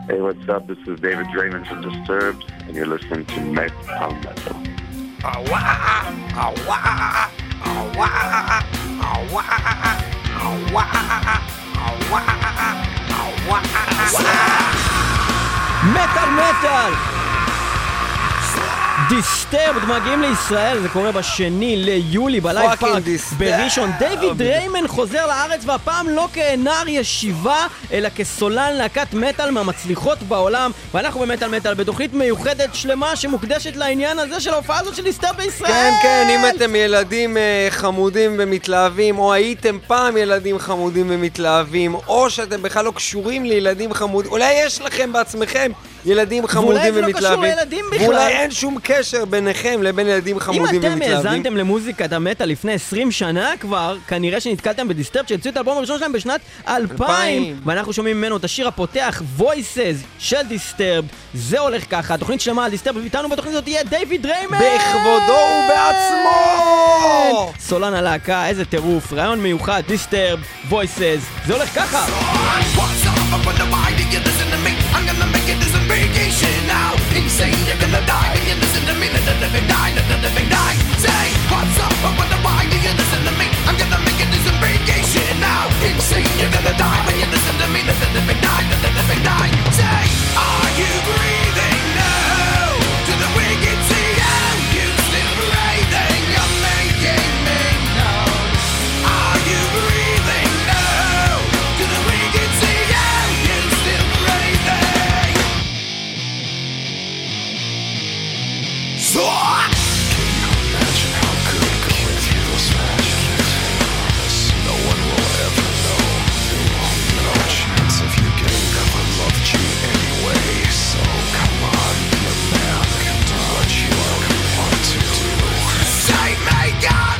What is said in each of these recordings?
Hey, what's up? This is David Draymond from Disturbed, and you're listening to Metal Metal. מטל מטל דיסטרבד מגיעים לישראל, זה קורה בשני ליולי בלייב פארק בראשון. דיוויד דריימן חוזר לארץ, והפעם לא כנער ישיבה אלא כסולן להקת מטל מהמצליחות בעולם, ואנחנו במטל מטל בתוכנית מיוחדת שלמה שמוקדשת לעניין הזה של ההופעה הזאת של דיסטרבד בישראל. כן, כן, אם אתם ילדים חמודים ומתלהבים, או הייתם פעם ילדים חמודים ומתלהבים, או שאתם בכלל לא קשורים לילדים חמודים, אולי יש לכם בעצמכם ילדים חמודים ומתלהבים, ואולי אין שום קשר ביניכם לבין ילדים חמודים ומתלהבים. אם אתם האזנתם למוזיקת המטל לפני 20 שנה כבר, כנראה שנתקלתם בדיסטרבד שהציעו את האלבום הראשון שלהם בשנת 2000, ואנחנו שומעים ממנו את השיר הפותח Voices של דיסטרבד. זה הולך ככה, התוכנית שלמה על דיסטרבד, ואיתנו בתוכנית הזאת תהיה דיוויד דריימן בכבודו ובעצמו, סולן הלהקה. איזה טירוף, רעיון מיוחד, דיסטרבד Voices, זה הולך ככה. I'm gonna make it as a vacation now. Insane, you're gonna die. You listen to me, let the living die, let the living die. Say, what's up? I wonder why do you listen to me? I'm gonna make it as a vacation now. Insane, you're gonna die. You listen to me, let the living die, let the living die. Say, are you breathing now? To the wicked sea, oh, you still breathing? You're making me know. Are you breathing now? To the wicked sea, oh, you still breathing? So can you imagine how good going through those flashbacks? No one will ever know. There won't be no chance of you getting up. I loved you anyway. So come on, be a man and do what you want to do. Save me, God!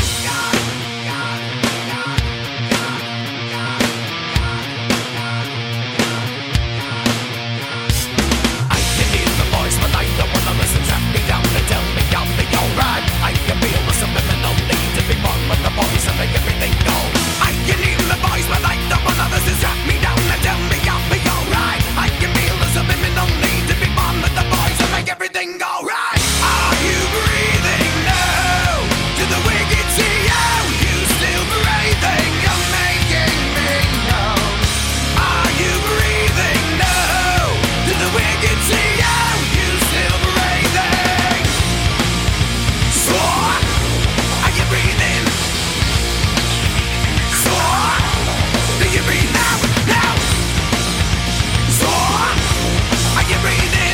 I can hear the voice, but I don't wanna listen. Trap me down and tell me I'll be alright. I can feel the subliminal need to be born with the voice and make everything go. I can hear the voice, but I don't wanna listen. Trap me down and tell me I'll be alright. I can feel the subliminal need to be born with the voice and make everything go right. Are you breathing now? To the wicked sea, oh, you still breathing? You're making me know. Are you breathing now? To the wicked sea, oh, you still breathing? So, are you breathing? So, do you breathe now? Now? So, are you breathing?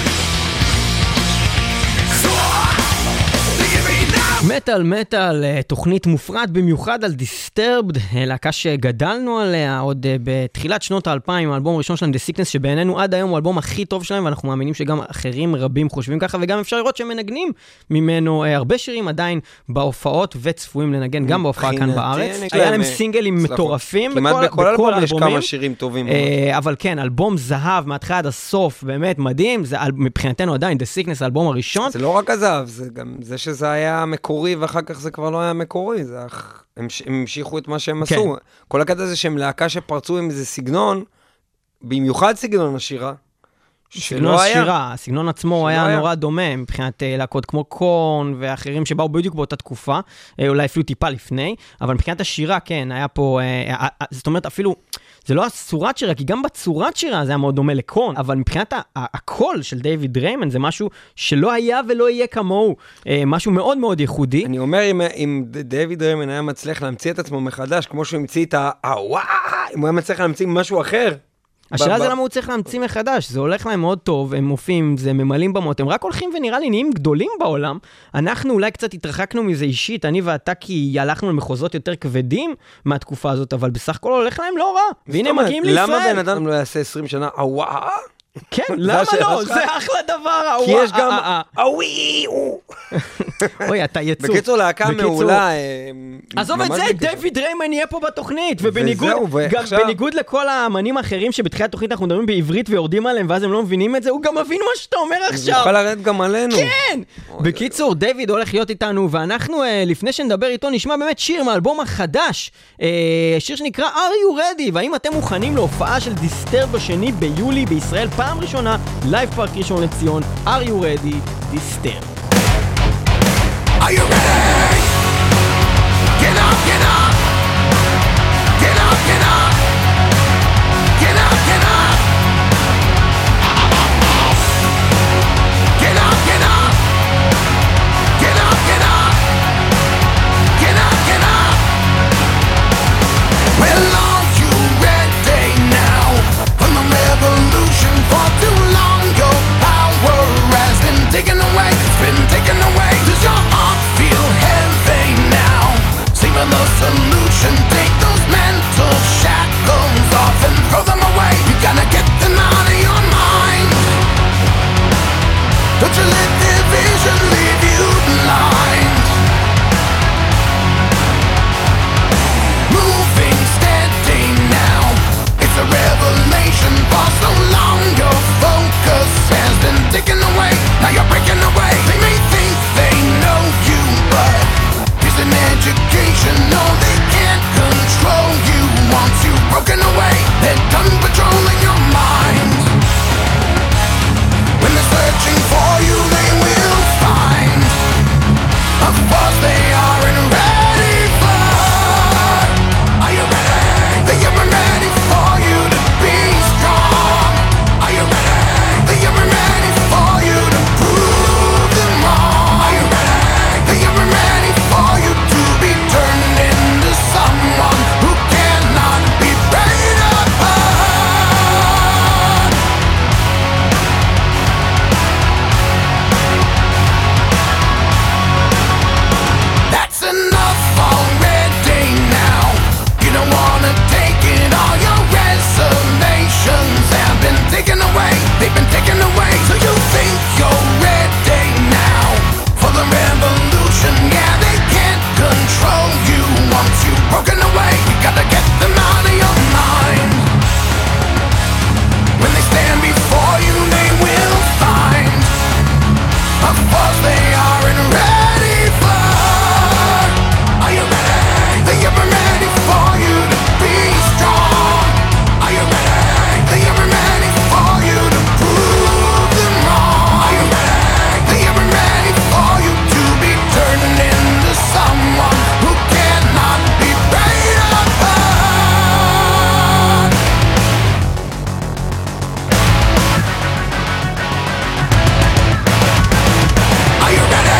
So, do you breathe now? מטל מטל, תוכנית מופרט במיוחד על דיסטרבד, להקה שגדלנו עליה עוד בתחילת שנות ה-2000, האלבום הראשון שלהם, The Sickness, שבעינינו עד היום הוא האלבום הכי טוב שלהם, ואנחנו מאמינים שגם אחרים רבים חושבים ככה, וגם אפשר לראות שהם מנגנים ממנו הרבה שירים עדיין בהופעות, וצפויים לנגן גם בהופעה כאן בארץ. היה להם סינגלים מטורפים, כמעט בכל אלבום יש כמה שירים טובים. אבל כן, אלבום זהב מהתחלה עד הסוף, באמת מדהים, זה מבחינתנו עדיין The Sickness, האלבום הראשון. זה לא רק הזהב, זה גם זה שזה היה מקורי, ואחר כך זה כבר לא היה מקורי, הם המשיכו את מה שהם עשו. כל הקטע הזה שהם להקה שפרצו עם איזה סגנון, במיוחד סגנון השירה, סגנון השירה, הסגנון עצמו היה נורא דומה, מבחינת להקות כמו קורן ואחרים שבאו בדיוק באותה תקופה, אולי אפילו טיפה לפני, אבל מבחינת השירה, כן, היה פה, זאת אומרת אפילו, זה לא הצורת שירה, כי גם בצורת שירה זה היה מאוד דומה לקורן, אבל מבחינת הקול של דיוויד דריימן, זה משהו שלא היה ולא יהיה כמוהו, משהו מאוד מאוד ייחודי. אני אומר, אם דיוויד דריימן היה מצליח להמציא את עצמו מחדש, כמו שהוא המציא את אם הוא היה מצליח להמציא משהו אחר, השאלה זה למה הוא צריך להמציא מחדש, זה הולך להם מאוד טוב, הם מופיעים, זה ממלאים במות, הם רק הולכים ונראה לי נהיים גדולים בעולם, אנחנו אולי קצת התרחקנו מזה אישית, אני ואתה כי הלכנו למחוזות יותר כבדים מהתקופה הזאת, אבל בסך הכל הולך להם לא רע, והנה הם מגיעים לישראל. למה בן אדם לא יעשה 20 שנה, כן, למה לא? זה אחלה דבר, כי יש גם אוי, אתה יצור. בקיצור, להקה מעולה. עזוב את זה, דיוויד דריימן יהיה פה בתוכנית, ובניגוד לכל האמנים האחרים שבתחילת התוכנית אנחנו מדברים בעברית ויורדים עליהם, ואז הם לא מבינים את זה, הוא גם מבין מה שאתה אומר עכשיו. הוא יכול לרדת גם עלינו. כן! בקיצור, דיוויד הולך להיות איתנו, ואנחנו, לפני שנדבר איתו, נשמע באמת שיר מהאלבום החדש, שיר שנקרא Are You Ready? והאם אתם מוכנים להופעה של דיסטרבד בשני ביולי בישראל? פעם ראשונה, לייב פארק ראשון לציון, are you ready? דיסטרב. Are you ready? Get up, get up. Get up, get up. Get up, get up. Get up, get up. Get up, get up. Get up, get up. Well, are you ready now? From the revolution for too long, your power has been taken away. It's been taken away. Does your heart feel heavy now? See for the solution. Take those mental shackles off and throw them away. You gotta get them out of your mind. Don't you let their vision leave you blind. Moving steady now. It's a revelation. For so long your focus has been taken away. Now you're breaking away. They may think they know you, but it's an education. No, they can't control you. Once you've broken away, they're done patrolling your mind. When they're searching for you, they will find a force they aren't ready for. Are you ready? They aren't ready for you to be strong. Are you ready? They aren't ready for you to prove them wrong. Are you ready? They aren't ready for you to be turned into someone who cannot be preyed upon. That's enough already now. You don't wanna take it. All your reservations have been taken away. They've been taken away. So you think you're ready now for the revolution. Yeah, they can't control you once you've broken away. You gotta get them out of your mind. When they stand before you, they will find a force they aren't ready for. Are you ready? They aren't ready for you to be strong. Are you ready? They aren't ready for you to prove them wrong. Are you ready? They aren't ready for you to be turned into someone who cannot be preyed upon. Are you ready?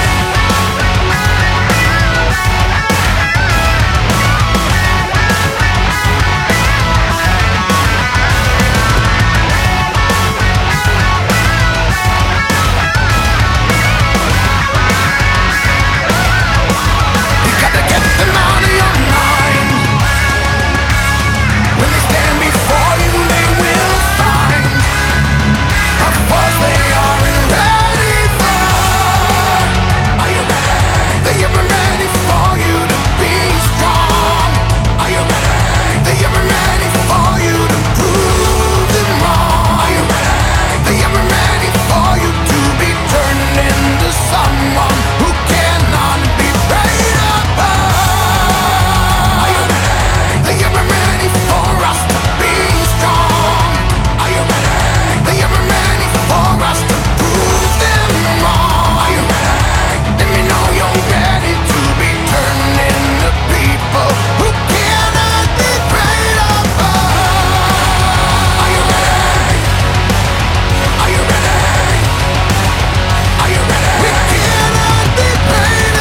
You gotta get them out of your mind. When they stand before you, they will find a force they aren't ready for. Are you ready? They aren't ready for you to be strong. Are you ready? They aren't ready for you to prove them wrong. Are you ready? They aren't ready for you to be turned into someone who cannot be preyed upon. Are you ready? They aren't ready for us to be strong. Are you ready? They aren't ready for us to prove them wrong. Are you ready? Let me know you're ready to be turned into people who cannot be preyed upon. Are you ready? Are you ready? Are you ready? We cannot be preyed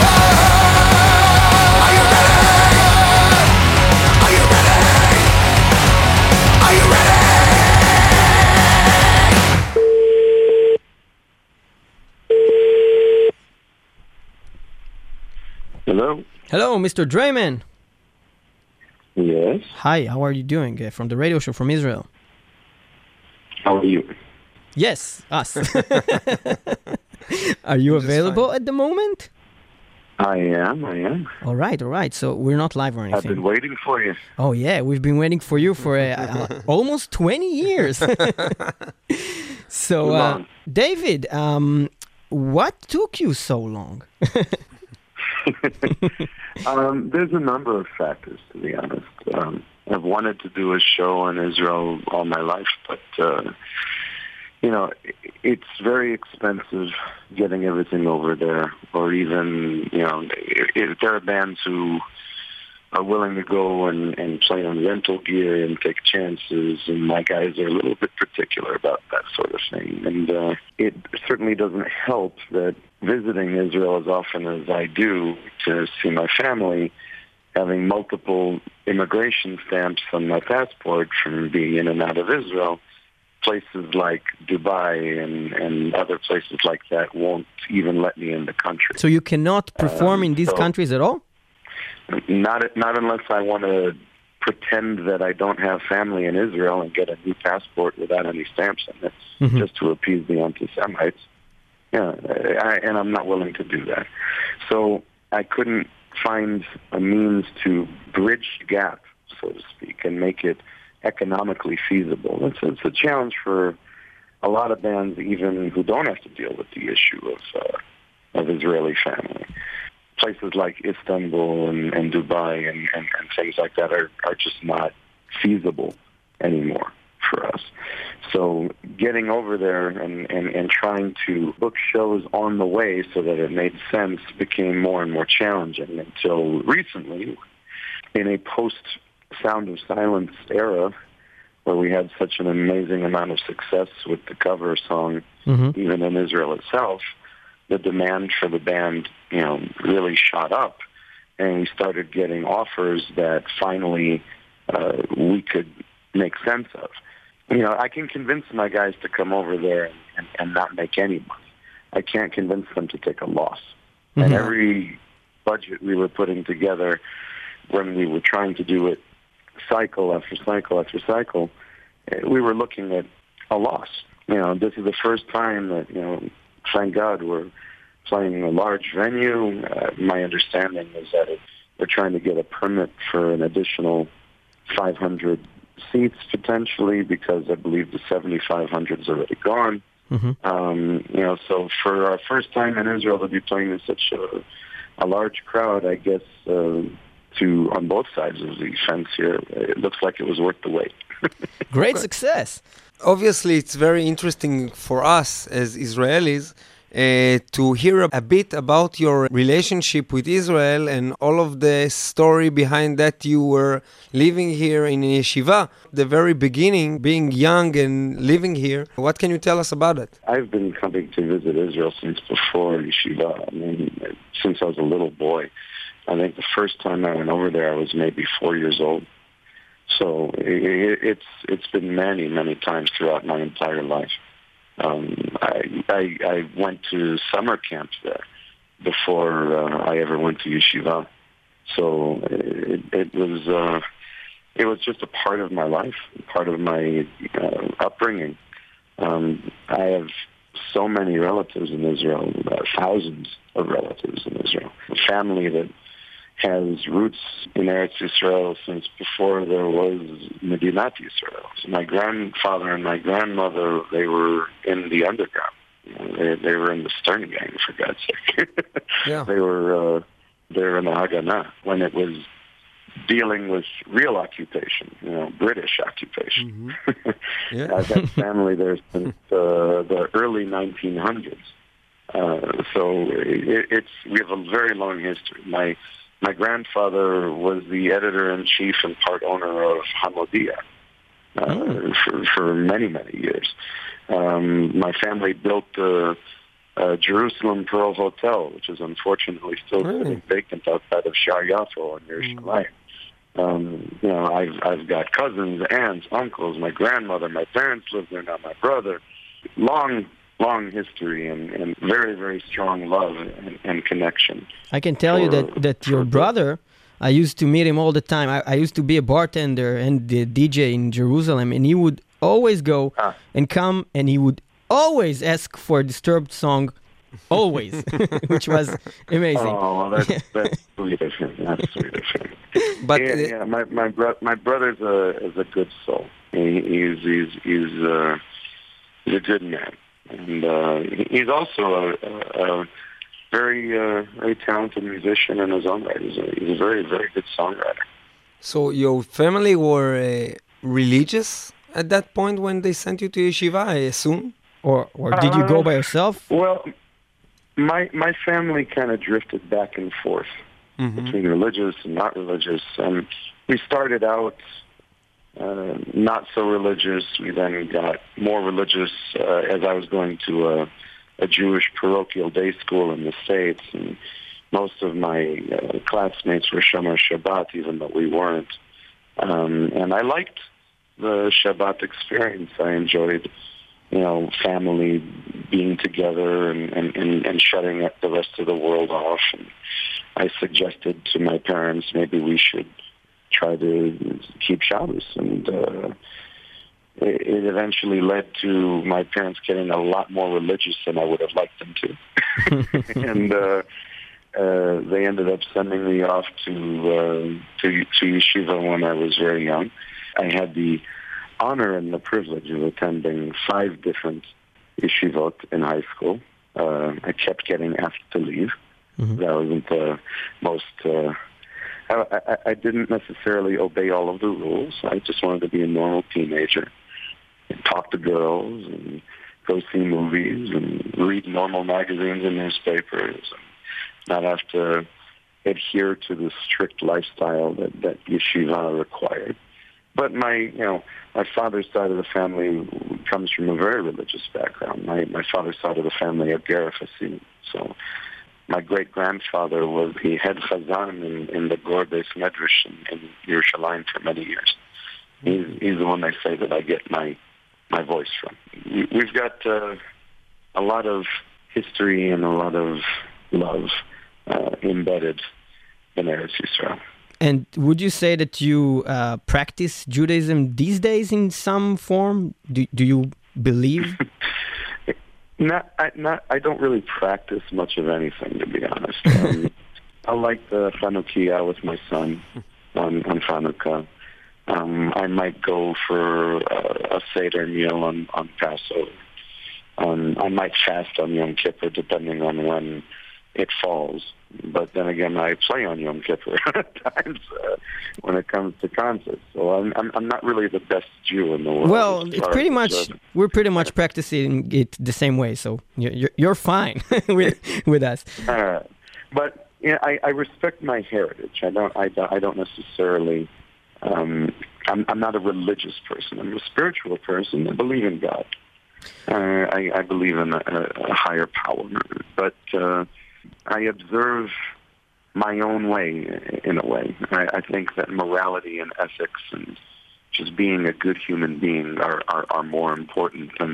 upon. Are you ready? Are you ready? Are you ready? Hello? Hello, Mr. Drayman. Yes? Hi, how are you doing? From the radio show from Israel. How are you? Yes, us. Are you available at the moment? I am. All right. So we're not live or I've anything. been waiting for you. Oh yeah, we've been waiting for you for almost 20 years. So, long. David, what took you so long? There's a number of factors, to be honest. I've wanted to do a show in Israel all my life, but it's very expensive getting everything over there, or even, if there are bands who are willing to go and play on rental gear and take chances, and my guys are a little bit particular about that sort of thing. And it certainly doesn't help that visiting Israel as often as I do to see my family, having multiple immigration stamps on my passport from being in and out of Israel, places like Dubai and other places like that won't even let me in the country. So you cannot perform in these countries at all? Not unless I want to pretend that I don't have family in Israel and get a new passport without any stamps in it, just to appease the anti-Semites. Yeah, and I'm not willing to do that. So I couldn't find a means to bridge the gap, so to speak, and make it economically feasible. It's a challenge for a lot of bands, even who don't have to deal with the issue of Israeli family. Places like Istanbul and Dubai and things like that are just not feasible anymore for us. So getting over there and trying to book shows on the way so that it made sense became more and more challenging until recently, in a post-Sound of Silence era, where we had such an amazing amount of success with the cover song, even in Israel itself, the demand for the band, really shot up, and we started getting offers that finally we could make sense of. I can convince my guys to come over there and not make any money. I can't convince them to take a loss. And every budget we were putting together when we were trying to do it cycle after cycle after cycle, we were looking at a loss. This is the first time that, thank God, we're playing a large venue. My understanding is that we're trying to get a permit for an additional 500 seats potentially, because I believe the 7,500 is already gone. So for our first time in Israel to be playing in such a large crowd, I guess on both sides of the fence here, it looks like it was worth the wait. Great success. Obviously, it's very interesting for us as Israelis to hear a bit about your relationship with Israel and all of the story behind that. You were living here in yeshiva, the very beginning, being young and living here. What can you tell us about it? I've been coming to visit Israel since before yeshiva. Since I was a little boy. I think the first time I went over there, I was maybe 4 years old. So it's been many, many times throughout my entire life. I went to summer camps there before I ever went to yeshiva. So it was just a part of my life, part of my upbringing. I have so many relatives in Israel, thousands of relatives in Israel. A family that has roots in Eretz Yisrael since before there was Medinat Yisrael. So my grandfather and my grandmother, they were in the underground. They were in the Stern Gang, for God's sake. Yeah. They were in the Haganah when it was dealing with real occupation, British occupation. Yeah. I've had family there since the early 1900s. So we have a very long history. My grandfather was the editor-in-chief and part owner of Hamodia for many, many years. My family built the Jerusalem Pearl Hotel, which is unfortunately still sitting vacant outside of Shar Yafo in Yerushalayim. I've got cousins, aunts, uncles, my grandmother, my parents live there now, my brother. Long history and very, very strong love and connection. I can tell you that your brother, I used to meet him all the time. I used to be a bartender and the DJ in Jerusalem, and he would always go and come, and he would always ask for a Disturbed song, always, which was amazing. Oh, well, that's sweet of him. That's sweet of him. But my brother's a good soul. He's a good man. And he's also a very very talented musician in his own right. He's a very, very good songwriter. So your family were religious at that point when they sent you to yeshiva, I assume? Or did you go by yourself? Well, my family kind of drifted back and forth between religious and not religious. And we started out not so religious. We then got more religious as I was going to a Jewish parochial day school in the States. And most of my classmates were Shomer Shabbat, even though we weren't. And I liked the Shabbat experience. I enjoyed, family being together and shutting the rest of the world off. And I suggested to my parents maybe we should try to keep Shabbos. And it eventually led to my parents getting a lot more religious than I would have liked them to. And they ended up sending me off to yeshiva when I was very young. I had the honor and the privilege of attending 5 different yeshivot in high school. I kept getting asked to leave. That wasn't the most... I didn't necessarily obey all of the rules. I just wanted to be a normal teenager and talk to girls and go see movies and read normal magazines and newspapers and not have to adhere to the strict lifestyle that yeshiva required. But my father's side of the family comes from a very religious background. My father's side of the family are Gerafasim. So my great-grandfather was the head chazan in the Gur Beis Medrash in Yerushalayim for many years. He's the one I say that I get my voice from. We've got a lot of history and a lot of love embedded in Eretz Yisrael. And would you say that you practice Judaism these days in some form? Do you believe? I don't really practice much of anything, to be honest. I like the Chanukiah with my son on Hanukkah. I might go for a Seder meal on Passover. I might fast on Yom Kippur, depending on when it falls. But then again, I play on Yom Kippur at times when it comes to concerts. So I'm not really the best Jew in the world. Well, it's pretty much we're pretty much practicing it the same way. So you're fine with us. But I respect my heritage. I don't necessarily. I'm not a religious person. I'm a spiritual person. I believe in God. I believe in a higher power, but. I observe my own way, in a way. I think that morality and ethics and just being a good human being are more important than,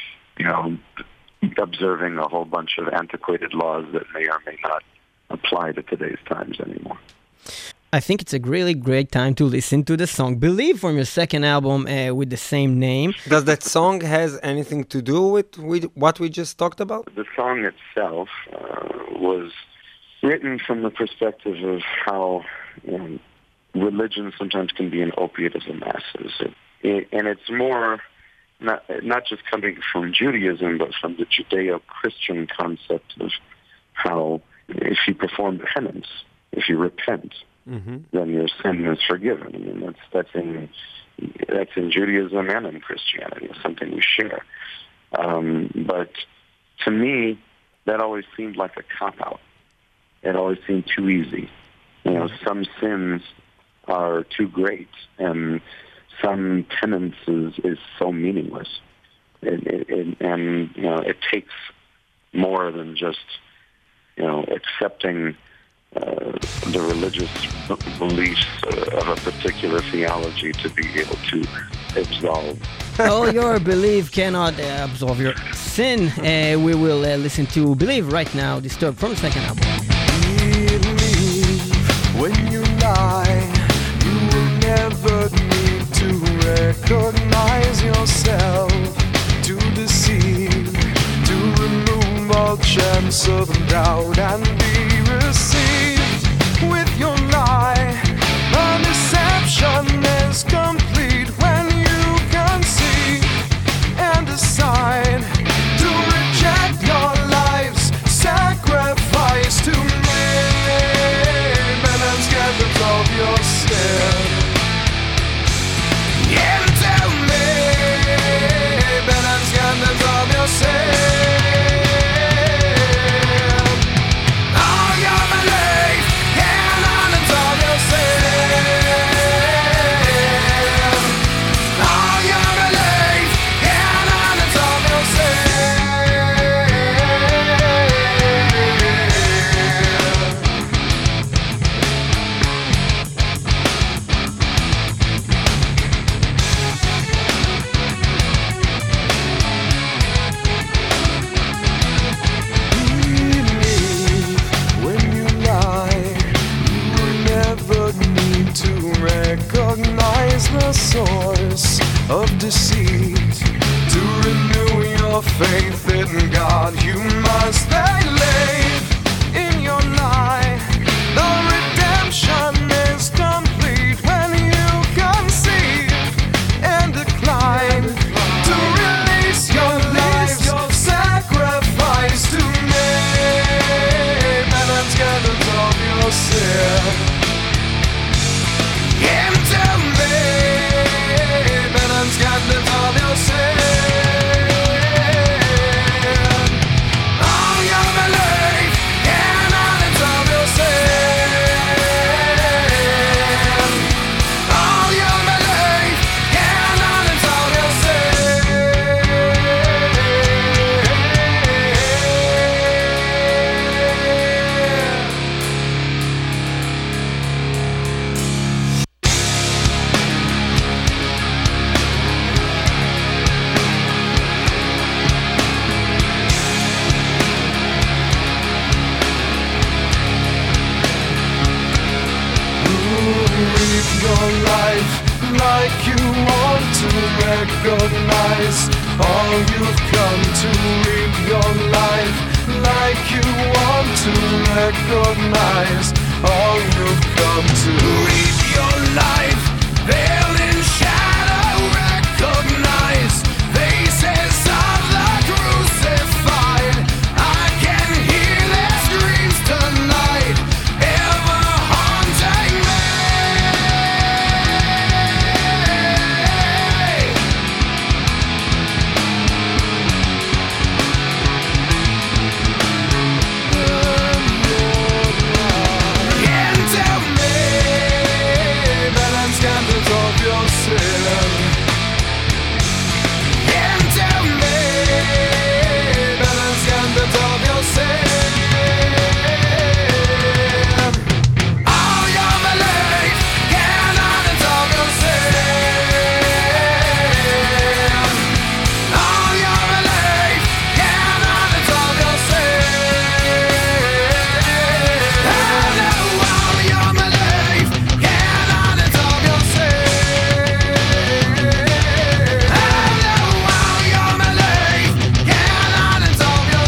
observing a whole bunch of antiquated laws that may or may not apply to today's times anymore. I think it's a really great time to listen to the song Believe from your second album with the same name. Does that song has anything to do with what we just talked about? The song itself was written from the perspective of how religion sometimes can be an opiate of the masses. And it's more not just coming from Judaism, but from the Judeo-Christian concept of how if you perform penance, if you repent, then your sin is forgiven. I mean, that's in Judaism and in Christianity. It's something we share. But to me, that always seemed like a cop-out. It always seemed too easy. Some sins are too great, and some penance is so meaningless. It takes more than just accepting the religious beliefs of a particular theology to be able to absolve. All your belief cannot absolve your sin. We will listen to Believe right now, Disturbed from the second album. Believe when you lie, you will never need to recognize yourself, to deceive, to remove all chance of doubt and be received with your lie. A deception is complete when you can see and decide to reject your life's sacrifice to me. And get rid of your sin. source of deceit. To renew your faith in God, you must believe in your lie. The redemption is complete when you conceive and decline to release your life's sacrifice to me. Penance gathers of your sin into me. Penance gathers of your sin. All your belief in penance of your sin. All your belief in penance of your Live your life like you want to recognize all you've come to. Live your life like you want to recognize all you've come to. Live your life veiled in shadow, recognize faces of the crucified. I can hear their screams tonight, ever haunting me. Into me, balance candles of your sin. Into me, balance candles of your sin. All your belief, cannons of your sin. All your belief, cannons of your sin. Hello, all your belief, cannons of your sin. Hello, all your belief, cannons of your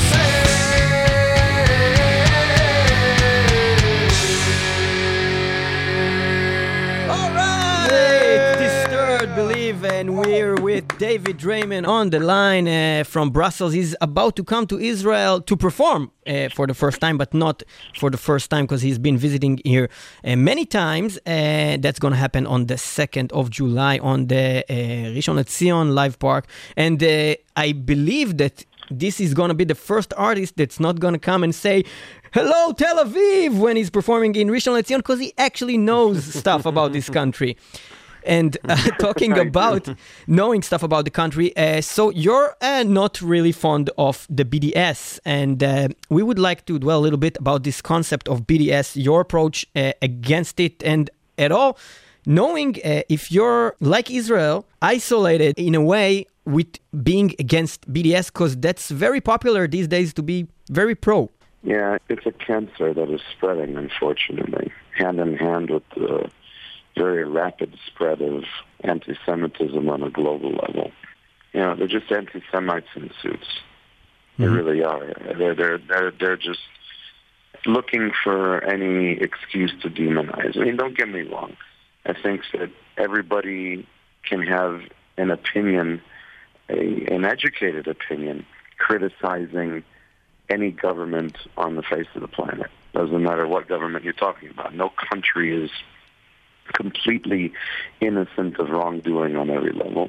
sin. All right. Great, Disturbed Believe, and we're with David Draiman on the line from Brussels. He's about to come to Israel to perform for the first time, but not for the first time because he's been visiting here many times. That's going to happen on the 2nd of July on the Rishon LeZion Live Park. And I believe that this is going to be the first artist that's not going to come and say, "Hello, Tel Aviv," when he's performing in Rishon LeZion, because he actually knows stuff about this country. And talking about knowing stuff about the country, so you're not really fond of the BDS, and we would like to dwell a little bit about this concept of BDS, your approach against it, and at all, knowing if you're, like Israel, isolated in a way with being against BDS, because that's very popular these days to be very pro. Yeah, it's a cancer that is spreading, unfortunately, hand in hand with the very rapid spread of anti-Semitism on a global level. You know, they're just anti-Semites in suits. They really are. They're just looking for any excuse to demonize. I mean, don't get me wrong. I think that everybody can have an opinion, an educated opinion, criticizing any government on the face of the planet. Doesn't matter what government you're talking about. No country is completely innocent of wrongdoing on every level.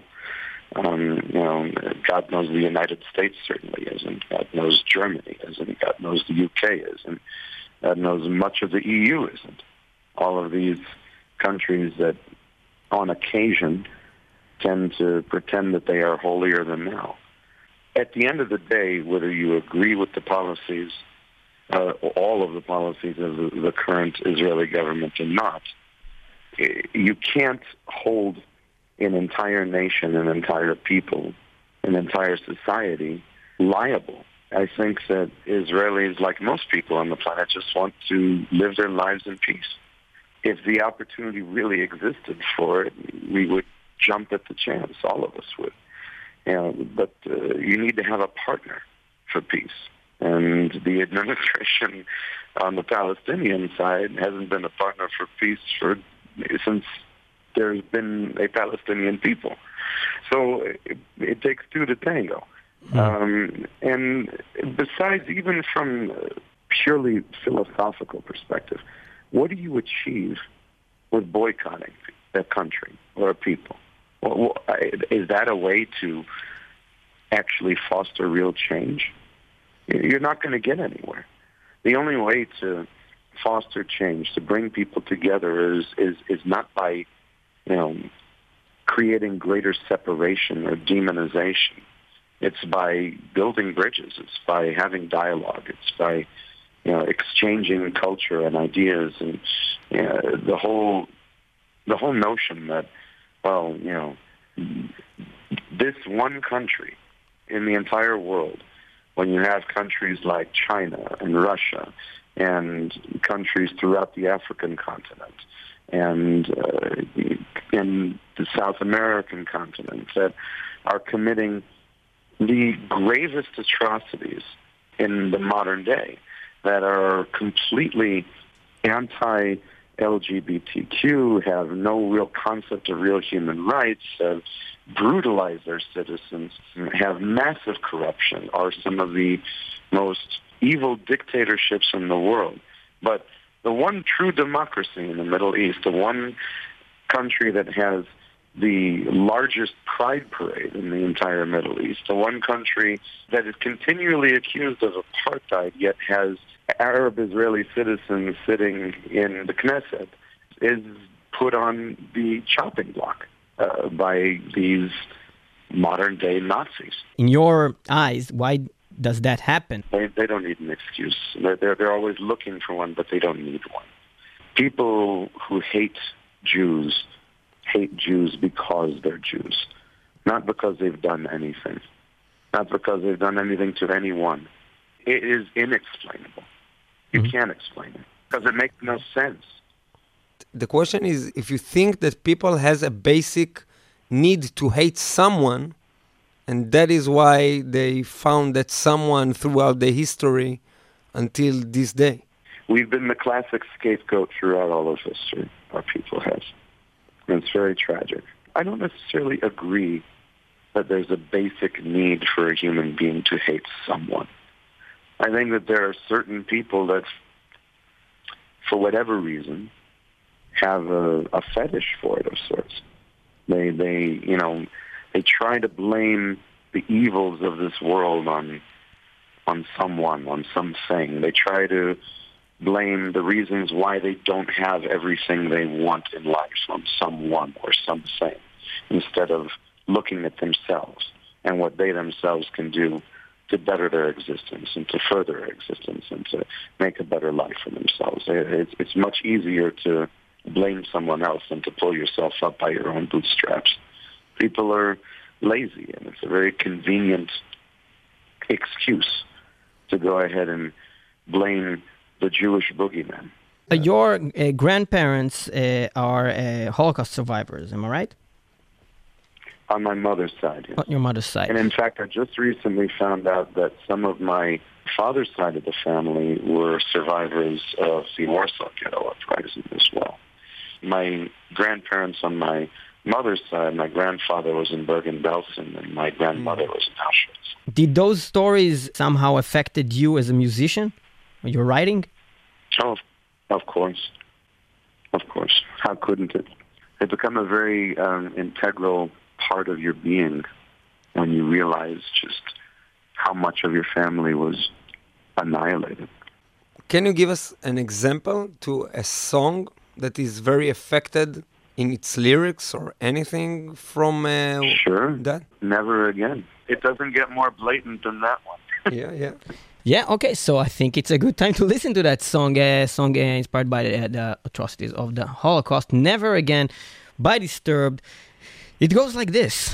God knows the United States certainly isn't. God knows Germany isn't. God knows the UK isn't. God knows much of the EU isn't. All of these countries that, on occasion, tend to pretend that they are holier than thou. At the end of the day, whether you agree with the policies, all of the policies of the current Israeli government or not, you can't hold an entire nation, an entire people, an entire society liable. I think that Israelis, like most people on the planet, just want to live their lives in peace. If the opportunity really existed for it, we would jump at the chance. All of us would. But you need to have a partner for peace. And the administration on the Palestinian side hasn't been a partner for peace since there's been a Palestinian people. So it takes two to tango. And besides, even from a purely philosophical perspective, what do you achieve with boycotting a country or a people? Is that a way to actually foster real change? You're not going to get anywhere. The only way to foster change, to bring people together, is not by, creating greater separation or demonization. It's by building bridges. It's by having dialogue. It's by, exchanging culture and ideas, and the whole notion that, this one country in the entire world, when you have countries like China and Russia and countries throughout the African continent and in the South American continent that are committing the gravest atrocities in the modern day, that are completely anti-LGBTQ, have no real concept of real human rights, have brutalized their citizens, have massive corruption, are some of the most evil dictatorships in the world. But the one true democracy in the Middle East, the one country that has the largest pride parade in the entire Middle East, the one country that is continually accused of apartheid yet has Arab Israeli citizens sitting in the Knesset, is put on the chopping block by these modern-day Nazis. In your eyes, why does that happen? They don't need an excuse. They're always looking for one, but they don't need one. People who hate Jews because they're Jews, not because they've done anything, not because they've done anything to anyone. It is inexplainable. You can't explain it because it makes no sense. The question is, if you think that people has a basic need to hate someone, and that is why they found that someone throughout the history until this day. We've been the classic scapegoat throughout all of history, our people has. And it's very tragic. I don't necessarily agree that there's a basic need for a human being to hate someone. I think that there are certain people that, for whatever reason, have a fetish for it of sorts. They try to blame the evils of this world on someone, on something. They try to blame the reasons why they don't have everything they want in life on someone or something, instead of looking at themselves and what they themselves can do to better their existence and to further their existence and to make a better life for themselves. It's much easier to blame someone else than to pull yourself up by your own bootstraps. People are lazy, and it's a very convenient excuse to go ahead and blame the Jewish boogeyman. Your grandparents are Holocaust survivors, am I right? On my mother's side, yes. On your mother's side. And in fact, I just recently found out that some of my father's side of the family were survivors of the Warsaw Ghetto Uprising as well. My grandparents on my mother's side, my grandfather was in Bergen-Belsen, and my grandmother was in Auschwitz. Did those stories somehow affected you as a musician? Your writing? Oh, of course. Of course. How couldn't it? It become a very integral part of your being when you realize just how much of your family was annihilated. Can you give us an example to a song that is very affected in its lyrics or anything from Sure. that? Never Again. It doesn't get more blatant than that one. Yeah. Yeah, okay, so I think it's a good time to listen to that song, inspired by the atrocities of the Holocaust, Never Again, by Disturbed. It goes like this.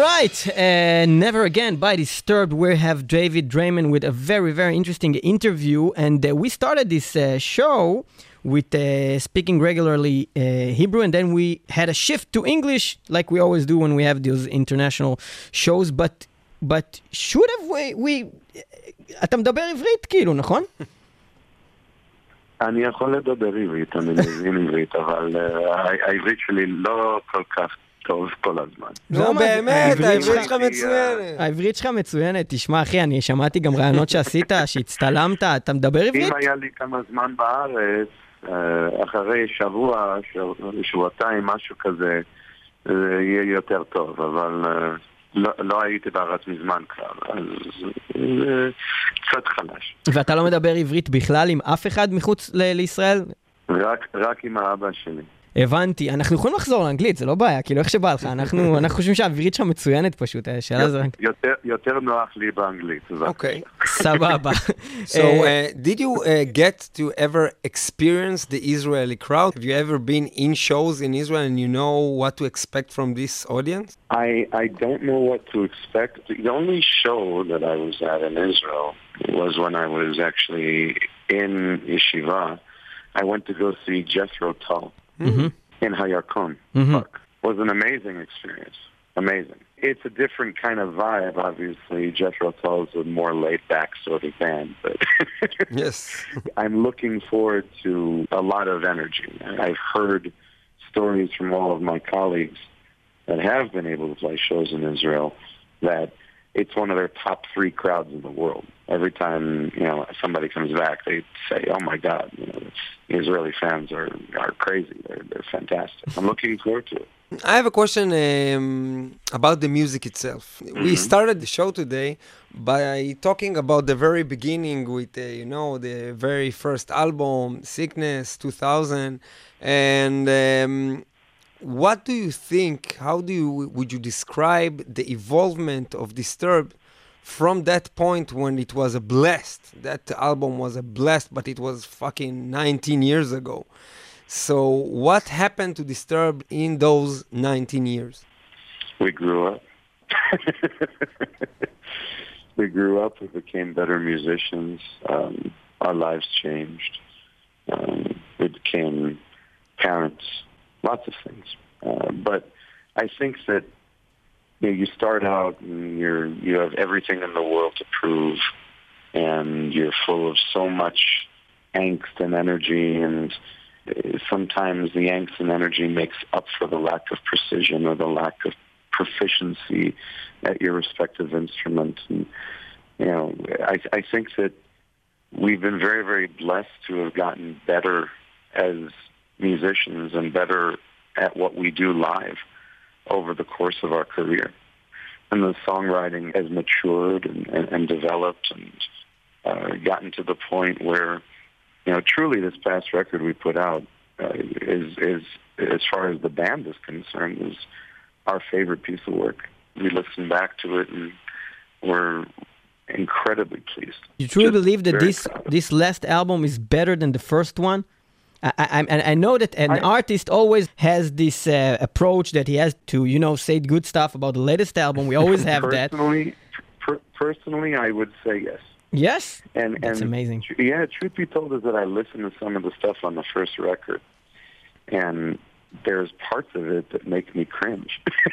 right, Never Again by Disturbed. We have David Draiman with a very, very interesting interview. And we started this show with speaking regularly Hebrew, and then we had a shift to English, like we always do when we have those international shows. But should have we... אתה מדבר עברית, כאילו, נכון? אני יכול לדבר עברית, אני מבין עברית, אבל העברית שלי לא כל כך טוב כל הזמן. לא, באמת, העברית שלך מצוינת. העברית שלך מצוינת. תשמע, אחי, אני שמעתי גם רעיונות שעשית, שהצטלמת, אתה מדבר עברית? אם היה לי כמה זמן בארץ, אחרי שבועתיים, משהו כזה, זה יהיה יותר טוב, אבל לא הייתי בארץ מזמן כבר, אז זה קצת חלש. ואתה לא מדבר עברית בכלל עם אף אחד מחוץ לישראל? רק עם האבא שלי. הבנתי, אנחנו יכולים לחזור לאנגלית, זה לא בעיה, כאילו איך שבא לך, אנחנו חושבים שהעברית שלך מצוינת פשוט, השאלה זה... יותר נוח לי באנגלית. אוקיי. סבבה. So, did you get to ever experience the Israeli crowd? Have you ever been in shows in Israel and you know what to expect from this audience? I don't know what to expect. The only show that I was at in Israel was when I was actually in Yeshiva. I went to go see Jethro Tull. In Hayarkon Park. It was an amazing experience. Amazing. It's a different kind of vibe, obviously. Jethro Tull is a more laid-back sort of band, but yes, I'm looking forward to a lot of energy. I've heard stories from all of my colleagues that have been able to play shows in Israel that it's one of their top 3 crowds in the world. Every time, somebody comes back, they say, "Oh my God, the Israeli fans are crazy. They're fantastic." I'm looking forward to it. I have a question about the music itself. We started the show today by talking about the very beginning with, the very first album, Sickness, 2000, and what do you think? How would you describe the evolvement of Disturbed from that point when it was a blast? That album was a blast, but it was fucking 19 years ago. So what happened to Disturbed in those 19 years? We grew up. We grew up. We became better musicians. Our lives changed. We became parents. Lots of things. But I think that you start out and you have everything in the world to prove, and you're full of so much angst and energy, and sometimes the angst and energy makes up for the lack of precision or the lack of proficiency at your respective instrument. And, I think that we've been very, very blessed to have gotten better as musicians and better at what we do live over the course of our career. And the songwriting has matured and developed and gotten to the point where, truly this past record we put out is as far as the band is concerned, is our favorite piece of work. We listened back to it and we're incredibly pleased. You truly believe that this last album is better than the first one? I know that an artist always has this approach that he has to, say good stuff about the latest album. We always have that. Personally, I would say yes. Yes? That's amazing. Yeah, truth be told is that I listened to some of the stuff on the first record, and there's parts of it that make me cringe.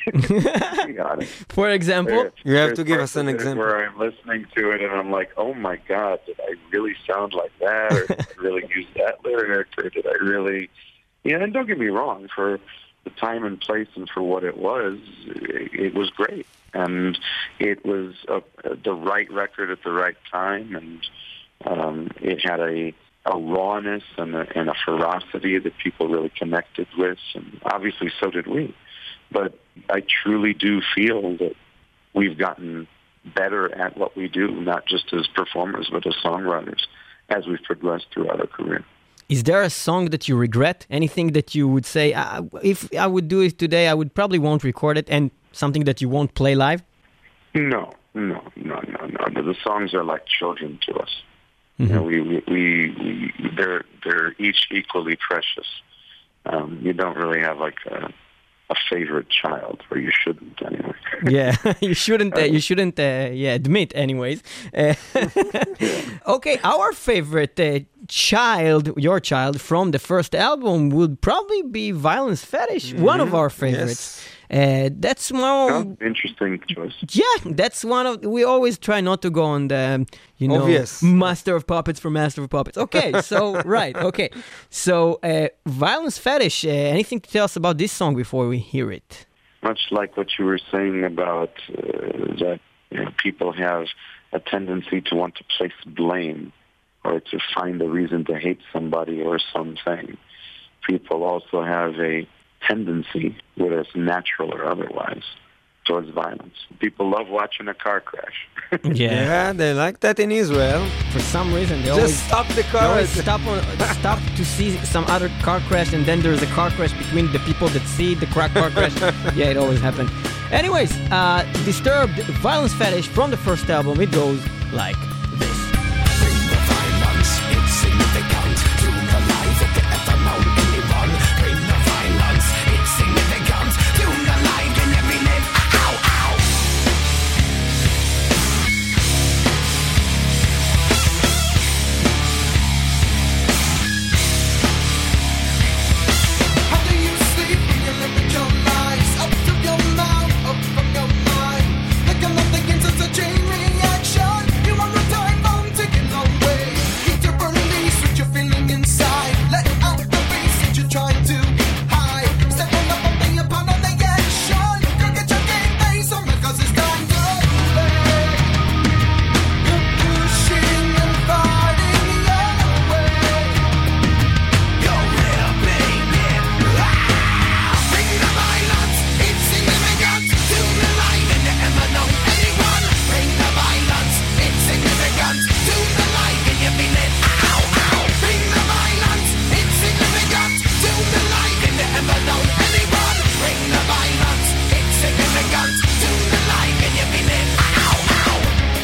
For example? You have to give us an example. Where I'm listening to it and I'm like, oh my God, did I really sound like that? Or did I really use that lyric? Or did I really... and don't get me wrong, for the time and place and for what it was great. And it was the right record at the right time, and it had a rawness and a ferocity that people really connected with, and obviously so did we. But I truly do feel that we've gotten better at what we do, not just as performers, but as songwriters, as we've progressed throughout our career. Is there a song that you regret? Anything that you would say, if I would do it today, I would probably won't record it, and something that you won't play live? No. The songs are like children to us. They're each equally precious. You don't really have like a favorite child, or you shouldn't anyway. Yeah, you shouldn't. Admit, anyways. Okay, our favorite child, your child from the first album, would probably be Violence Fetish. One of our favorites. Yes. That's one. Interesting choice. Yeah, that's one of. We always try not to go on the, Obvious. Master of Puppets for Master of Puppets. Okay, so right, okay, so Violence Fetish. Anything to tell us about this song before we hear it? Much like what you were saying about that people have a tendency to want to place blame or to find a reason to hate somebody or something. People also have a tendency, whether it's natural or otherwise, towards violence. People love watching a car crash. Yeah, they like that in Israel. For some reason, they Just always stop the they car. always stop to see some other car crash, and then there's a car crash between the people that see the car crash. Yeah, it always happens. Anyways, Disturbed, Violence Fetish from the first album. It goes like this. Bring the violence, it's significant to the life of the ever known anyone. Bring the violence, it's significant to the life in every live. Ow, ow. How do you sleep when you limit your lies? Up to your mouth, up from your mind. Like I'm nothing into a chain reaction. You want a time bomb ticking long way. Keep your burning leash what you're feeling inside. Let out the beast that you're trying to hide. Stepping up on the upon on the action. Go get your game face on because it's time to play. You're pushing and fighting your way. You're real big, yeah. Bring the violence, it's significant to the life in the ever known anyone. Bring the violence, it's significant to the life in your feeling. Ow, ow. Bring the violence, it's significant to the life in the ever known anyone. Bring the violence, it's significant to the life in your feeling. Ow, ow.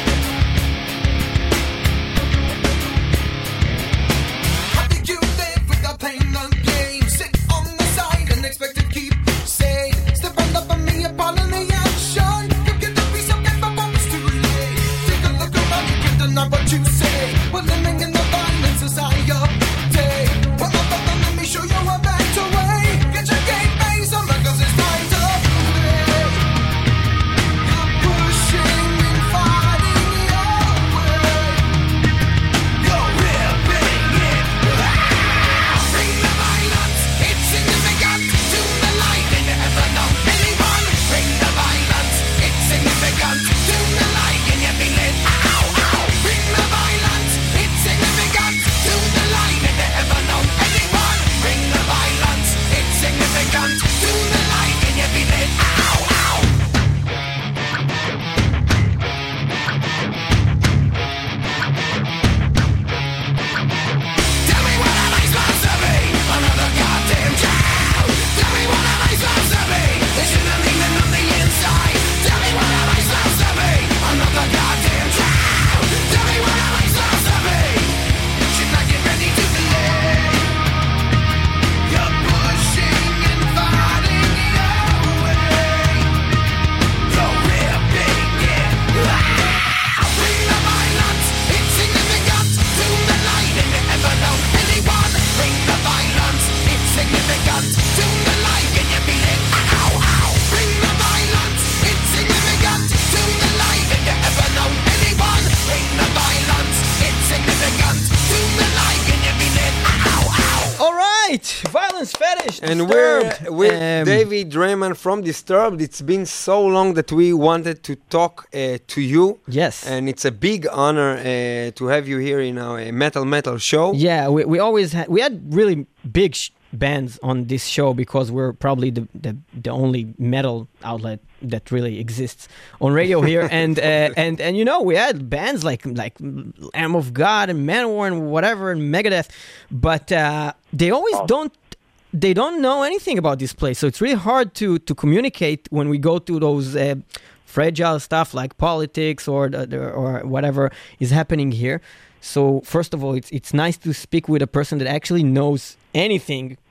How do you live without playing the game? Sit on the side and expect to keep safe. Step up on me upon the action. You get the piece of paper, but it's too late. Take a look around, you can't deny what you say. We're living in the violent society. Well, let me show you a better way. Get your game face on because it's time to play. You're pushing and fighting your way. You're real big, yeah. Bring the violence, it's significant to the life in the ever known anyone. Bring the violence, it's significant to the life in your feeling. Ow, ow. Bring the violence, it's significant to the life in the ever known anyone. Bring the violence, it's significant to the life in your feeling. Ow, ow. Tell me what am I supposed to be? Another goddamn child. Tell me what am I supposed to be? This is the demon on the inside. Tell me what am I supposed to be? Another goddamn child. Tell me what am I supposed to be? Should I get ready to delay? You're pushing and fighting your way. You're real big, yeah. Bring the violence, it's significant to the light in the ever known anyone. Bring the violence, it's significant to the light in your feeling. Ow, ow. Bring the violence, it's significant to the light in the ever known anyone. Bring the violence, it's significant to the light in your feeling. Ow, ow. All right, Violence Fetish. And we're Disturbed. with David Draiman from Disturbed. It's been so long that we wanted to talk to you. Yes. And it's a big honor to have you here in our Metal show. Yeah, we always we had really big bands on this show because we're probably the only metal outlet that really exists on radio here, and we had bands like Lamb of God and Manowar and whatever and Megadeth, but they always don't know anything about this place, so it's really hard to communicate when we go to those fragile stuff like politics or whatever is happening here. So first of all, it's nice to speak with a person that actually knows anything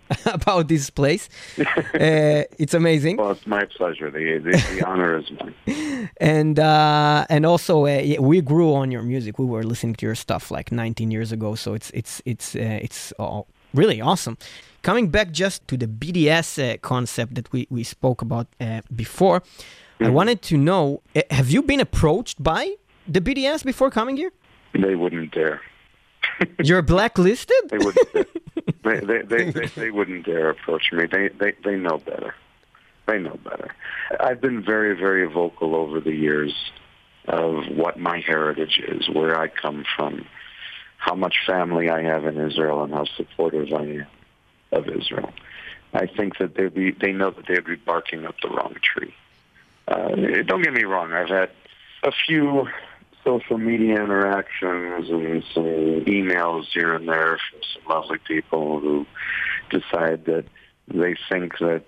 about this place. It's amazing. Well, it's my pleasure. The honor is mine. And also we grew on your music. We were listening to your stuff like 19 years ago, so it's all really awesome. Coming back just to the BDS concept that we spoke about before, I wanted to know, have you been approached by the BDS before coming here? They wouldn't dare. You're blacklisted? They wouldn't dare. They wouldn't dare approach me. They know better. They know better. I've been very, very vocal over the years of what my heritage is, where I come from, how much family I have in Israel, and how supportive I am of Israel. I think that they know that they'd be barking up the wrong tree. Don't get me wrong. I've had a few social media interactions and some emails here and there from some lovely people who decide that they think that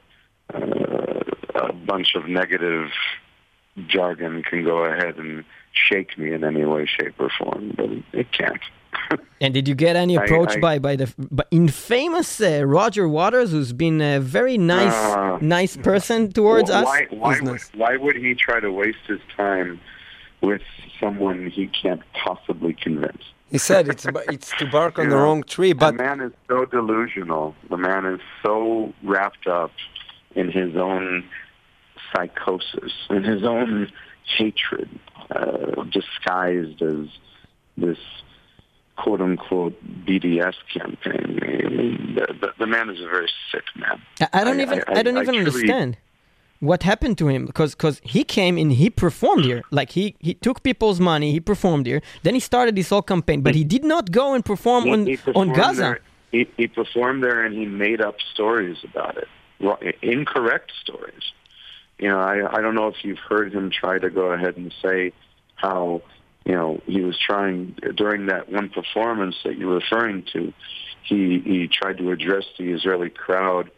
a bunch of negative jargon can go ahead and shake me in any way, shape, or form, but it can't. And did you get any approach by the infamous Roger Waters, who's been a very nice person towards us? Why would he try to waste his time with someone he can't possibly convince? He said it's to bark on the wrong tree, but the man is so delusional. The man is so wrapped up in his own psychosis, in his own hatred, disguised as this quote-unquote BDS campaign. I mean, the man is a very sick man. I don't even understand what happened to him, because he came and he performed here. Like he took people's money, he performed here. Then he started this whole campaign, but he did not go and perform on Gaza. He performed there and he made up stories about it, incorrect stories. You know, I don't know if you've heard him try to go ahead and say how, you know, he was trying during that one performance that you're referring to. He tried to address the Israeli crowd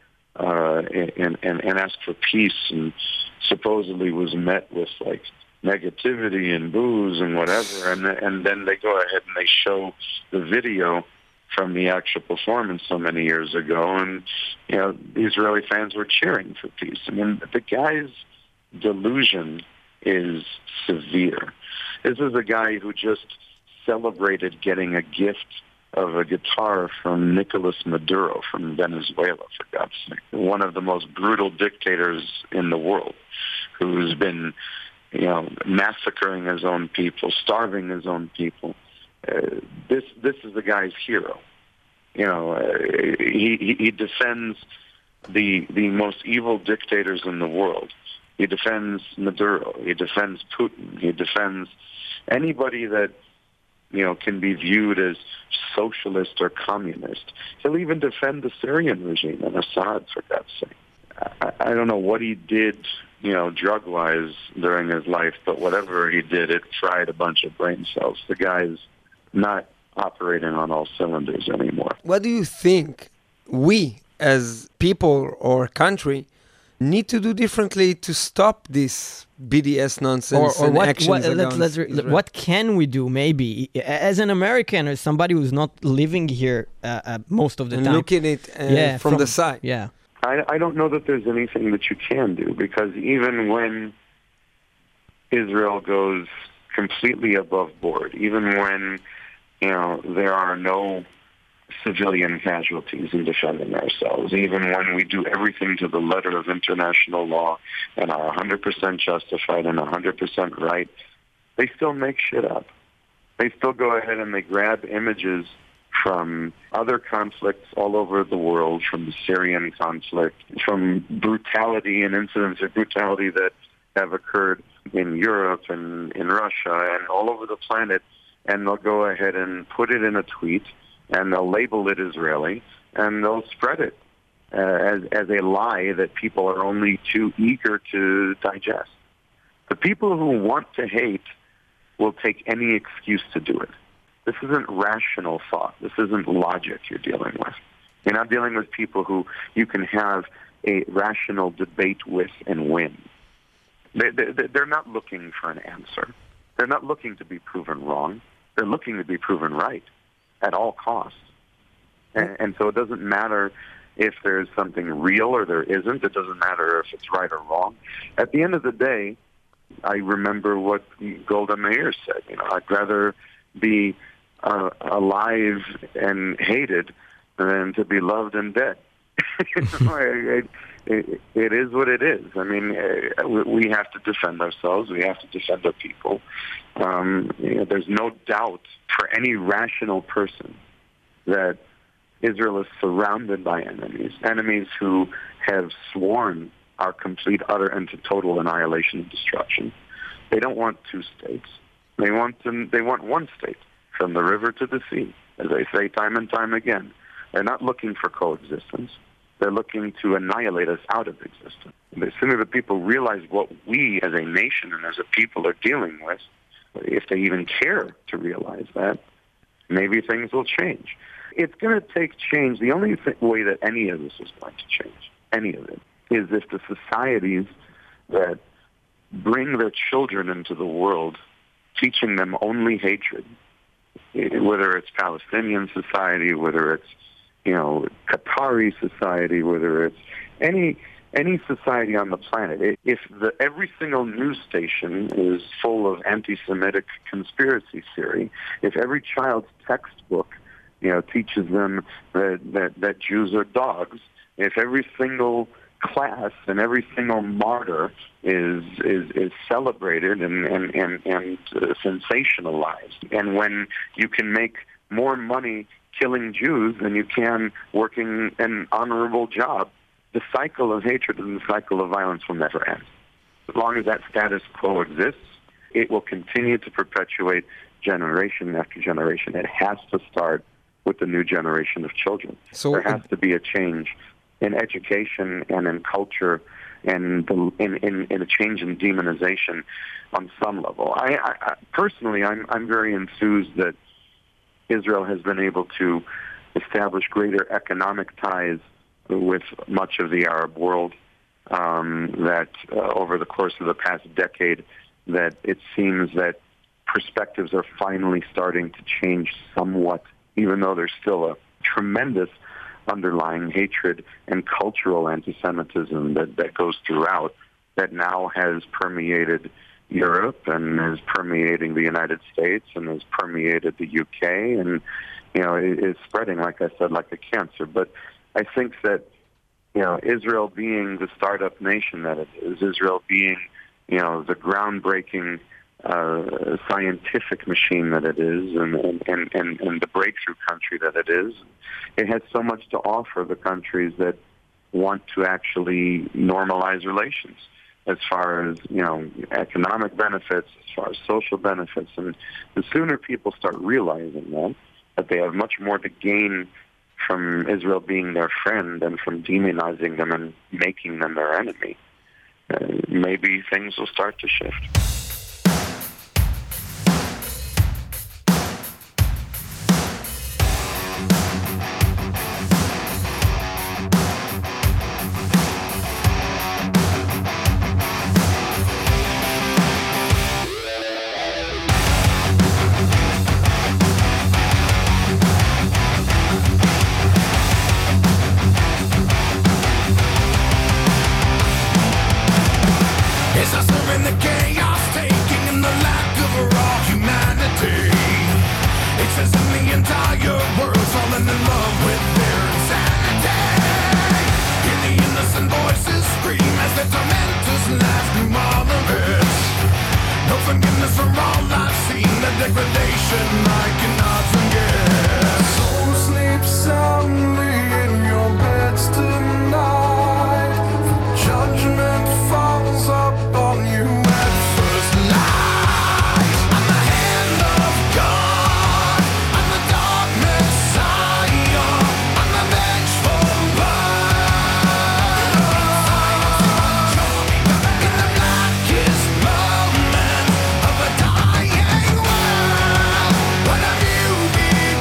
and ask for peace, and supposedly was met with like negativity and boos and whatever. And then they go ahead and they show the video from the actual performance so many years ago, and you know the Israeli fans were cheering for peace. I mean, the guy's delusion is severe. This is a guy who just celebrated getting a gift of a guitar from Nicolas Maduro from Venezuela, for God's sake. One of the most brutal dictators in the world, who's been, you know, massacring his own people, starving his own people. This is the guy's hero. You know, he defends the most evil dictators in the world. He defends Maduro. He defends Putin. He defends anybody that, you know, can be viewed as socialist or communist. He'll even defend the Syrian regime and Assad, for God's sake. I don't know what he did, you know, drug-wise during his life, but whatever he did, it fried a bunch of brain cells. The guy's not operating on all cylinders anymore. What do you think we, as people or country, need to do differently to stop this BDS nonsense and actions against Israel? What can we do, maybe, as an American or somebody who's not living here most of the time? Looking at it from the side. Yeah. I don't know that there's anything that you can do, because even when Israel goes completely above board, even when, you know, there are no civilian casualties in defending ourselves, even when we do everything to the letter of international law and are 100% justified and 100% right, they still make shit up. They still go ahead and they grab images from other conflicts all over the world, from the Syrian conflict, from brutality and incidents of brutality that have occurred in Europe and in Russia and all over the planet, and they'll go ahead and put it in a tweet, and they'll label it Israeli, and they'll spread it as a lie that people are only too eager to digest. The people who want to hate will take any excuse to do it. This isn't rational thought. This isn't logic you're dealing with. You're not dealing with people who you can have a rational debate with and win. They're not looking for an answer. They're not looking to be proven wrong. They're looking to be proven right at all costs. And so it doesn't matter if there's something real or there isn't. It doesn't matter if it's right or wrong. At the end of the day, I remember what Golda Meir said. I'd rather be alive and hated than to be loved and dead. It is what it is. I mean, we have to defend ourselves. We have to defend our people. There's no doubt for any rational person that Israel is surrounded by enemies who have sworn our complete, utter, and total annihilation and destruction. They don't want two states. They want one state, from the river to the sea, as they say time and time again. They're not looking for coexistence. They're looking to annihilate us out of existence. And as soon as the people realize what we as a nation and as a people are dealing with, if they even care to realize that, maybe things will change. It's going to take change. The only way that any of this is going to change, any of it, is if the societies that bring their children into the world, teaching them only hatred, whether it's Palestinian society, whether it's Qatari society, whether it's any society on the planet, if every single news station is full of anti-Semitic conspiracy theory, if every child's textbook teaches them that Jews are dogs, if every single class and every single martyr is celebrated and sensationalized, and when you can make more money killing Jews than you can working an honorable job, the cycle of hatred and the cycle of violence will never end. As long as that status quo exists, it will continue to perpetuate generation after generation. It has to start with the new generation of children. So there has to be a change in education and in culture and in a change in demonization on some level. I personally, I'm very enthused that Israel has been able to establish greater economic ties with much of the Arab world, that over the course of the past decade, that it seems that perspectives are finally starting to change somewhat, even though there's still a tremendous underlying hatred and cultural anti-Semitism that goes throughout, that now has permeated Europe and is permeating the United States and has permeated the UK, and it is spreading, like I said, like a cancer. But I think that Israel being the startup nation that it is, Israel being the groundbreaking scientific machine that it is, and the breakthrough country that it is, it has so much to offer the countries that want to actually normalize relations, as far as economic benefits, as far as social benefits. And the sooner people start realizing that they have much more to gain from Israel being their friend and from demonizing them and making them their enemy, maybe things will start to shift. What have you been?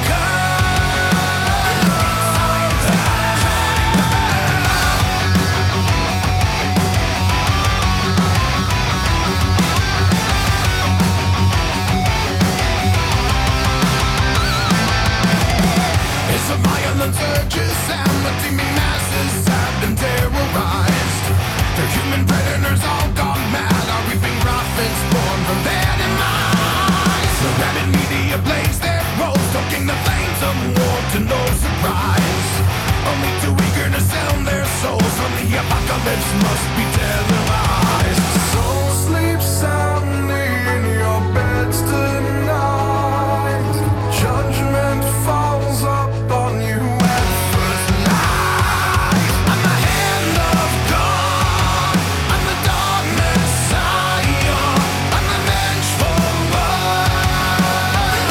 their demise. The rabid media blaze their roles, stoking the flames of war to no surprise. Only too eager to sell their souls from the apocalypse must be televised. So sleep soundly in your beds tonight. Judgment falls upon you at first light. I'm the hand of God, I'm the dark Messiah, I'm the vengeful one.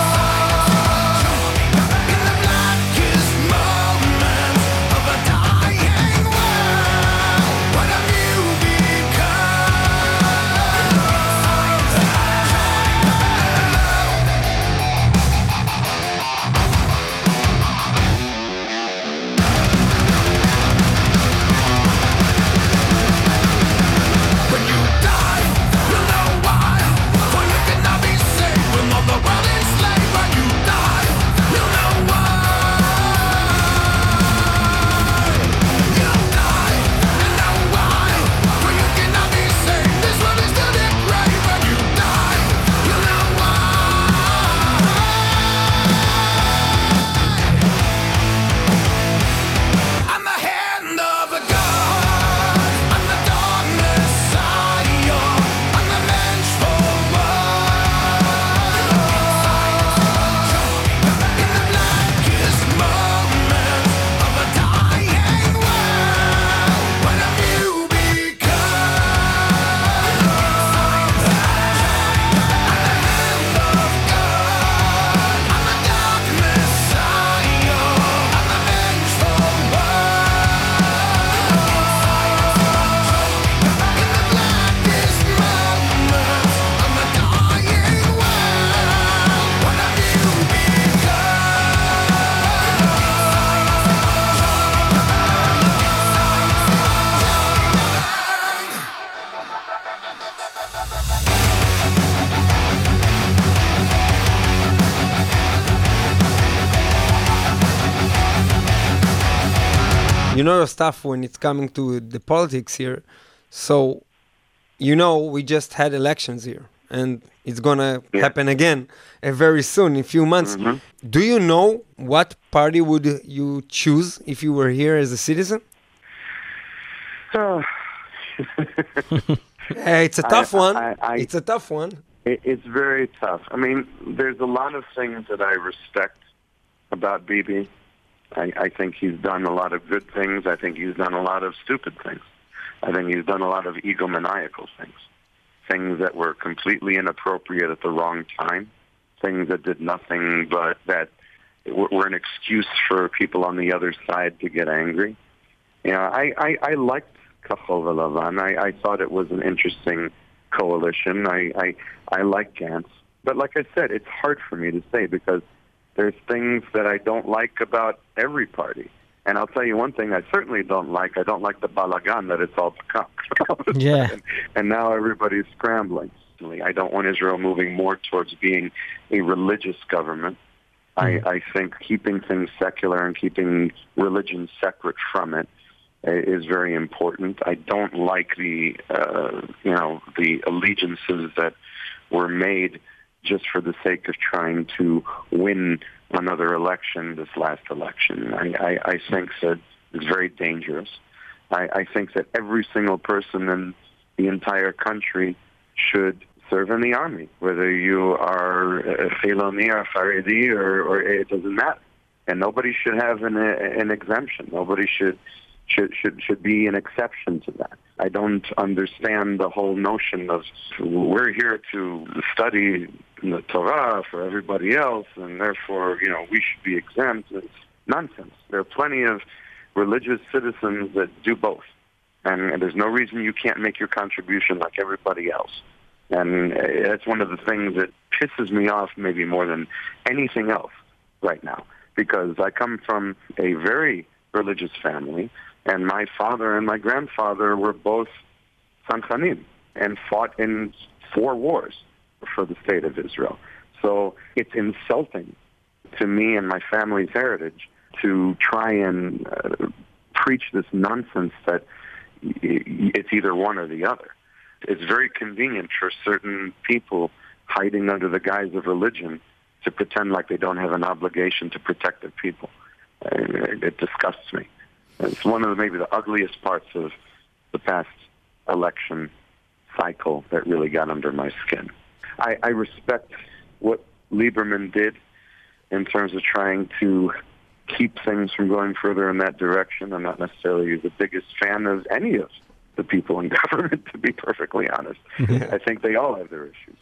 In the blackest moments of a dying world, what have you When you die, you'll know why. For you cannot be saved when all the world is enslaved. When you die, you'll know why. You'll die, you know why. For you cannot be saved. This world is still depraved. When you die, you'll know why. I'm the hand of the God. I'm the dark Messiah. I'm the vengeful one. In the blackest moments of a dying world, what have you become? I'm the hand of God. I'm the dark Messiah. I'm the vengeful one. In the blackest moments of a dying world, what have you You know your stuff when it's coming to the politics here. So, you know, we just had elections here, and it's gonna happen again very soon, in a few months. Do you know what party would you choose if you were here as a citizen? It's a tough one. It's a tough one. It's very tough. I mean, there's a lot of things that I respect about Bibi. I think he's done a lot of good things. I think he's done a lot of stupid things. I think he's done a lot of egomaniacal things. Things that were completely inappropriate at the wrong time. Things that did nothing but that were an excuse for people on the other side to get angry. You know, I liked Kachol V'Lavan. I thought it was an interesting coalition. I like Gantz. But like I said, it's hard for me to say because there's things that I don't like about every party. And I'll tell you one thing I certainly don't like. I don't like the balagan that it's all become. Yeah. And now everybody's scrambling. I don't want Israel moving more towards being a religious government. I think keeping things secular and keeping religion separate from it is very important. I don't like the allegiances that were made just for the sake of trying to win another election, this last election. I think that it's very dangerous. I think that every single person in the entire country should serve in the army, whether you are a Filoni or Haredi or it doesn't matter. And nobody should have an exemption. Nobody should be an exception to that. I don't understand the whole notion of we're here to study the Torah for everybody else, and therefore, we should be exempt. It's nonsense. There are plenty of religious citizens that do both, and there's no reason you can't make your contribution like everybody else. And that's one of the things that pisses me off maybe more than anything else right now, because I come from a very religious family, and my father and my grandfather were both Sanchanim and fought in 4 wars for the state of Israel. So it's insulting to me and my family's heritage to try and preach this nonsense that it's either one or the other. It's very convenient for certain people hiding under the guise of religion to pretend like they don't have an obligation to protect their people. It disgusts me. It's one of maybe the ugliest parts of the past election cycle that really got under my skin. I respect what Lieberman did in terms of trying to keep things from going further in that direction. I'm not necessarily the biggest fan of any of the people in government, to be perfectly honest. I think they all have their issues.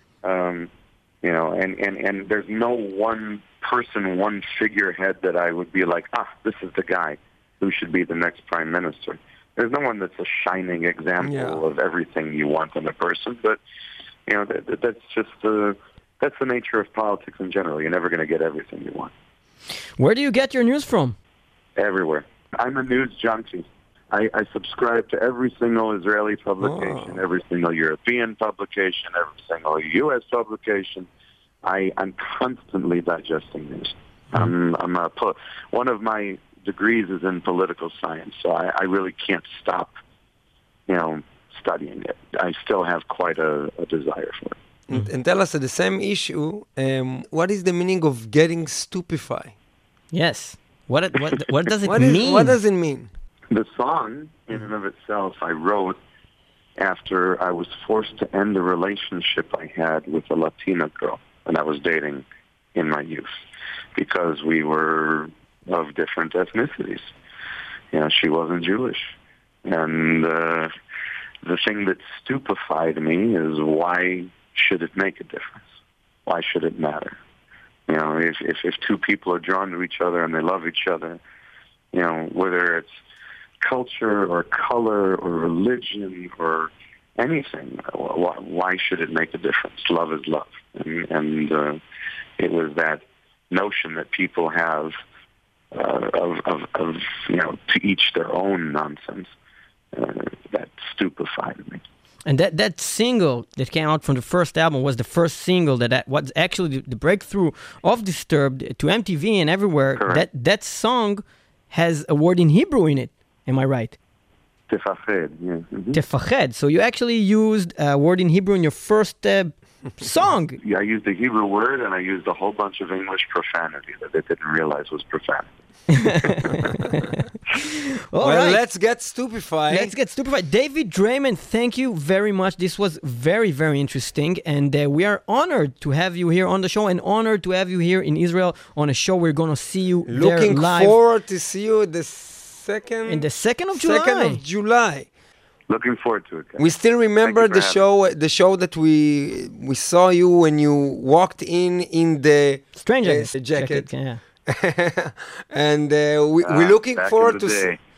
And there's no one person, one figurehead that I would be like, this is the guy who should be the next prime minister. There's no one that's a shining example of everything you want in a person, but that's just that's the nature of politics in general. You're never going to get everything you want. Where do you get your news from? Everywhere. I'm a news junkie. I subscribe to every single Israeli publication, every single European publication, every single U.S. publication. I'm constantly digesting news. One of my degrees is in political science, so I really can't stop, studying it. I still have quite a desire for it. And tell us, the same issue, what is the meaning of getting stupefied? Yes. What does it mean? What does it mean? The song, in and of itself, I wrote after I was forced to end a relationship I had with a Latina girl when I was dating in my youth, because we were of different ethnicities. She wasn't Jewish. And the thing that stupefied me is, why should it make a difference? Why should it matter? If two people are drawn to each other and they love each other, whether it's culture or color or religion or anything, why should it make a difference? Love is love. And it was that notion that people have of to each their own nonsense that stupefied me. And that single that came out from the first album was the first single that was actually the breakthrough of Disturbed to MTV and everywhere. Correct. That song has a word in Hebrew in it. Am I right? Tefached, yeah. Mm-hmm. Tefached. So you actually used a word in Hebrew in your first song. Yeah, I used the Hebrew word and I used a whole bunch of English profanity that they didn't realize was profanity. Right. Let's get stupefied. David Draiman, thank you very much. This was very, very interesting. And we are honored to have you here on the show and honored to have you here in Israel on a show. We're going to see you there live. Looking forward to see you the 2nd... In the 2nd of July. 2nd of July. Looking forward to it, guys. We still remember the show that we saw you when you walked in the Stranger jacket. Yeah. And we're looking forward to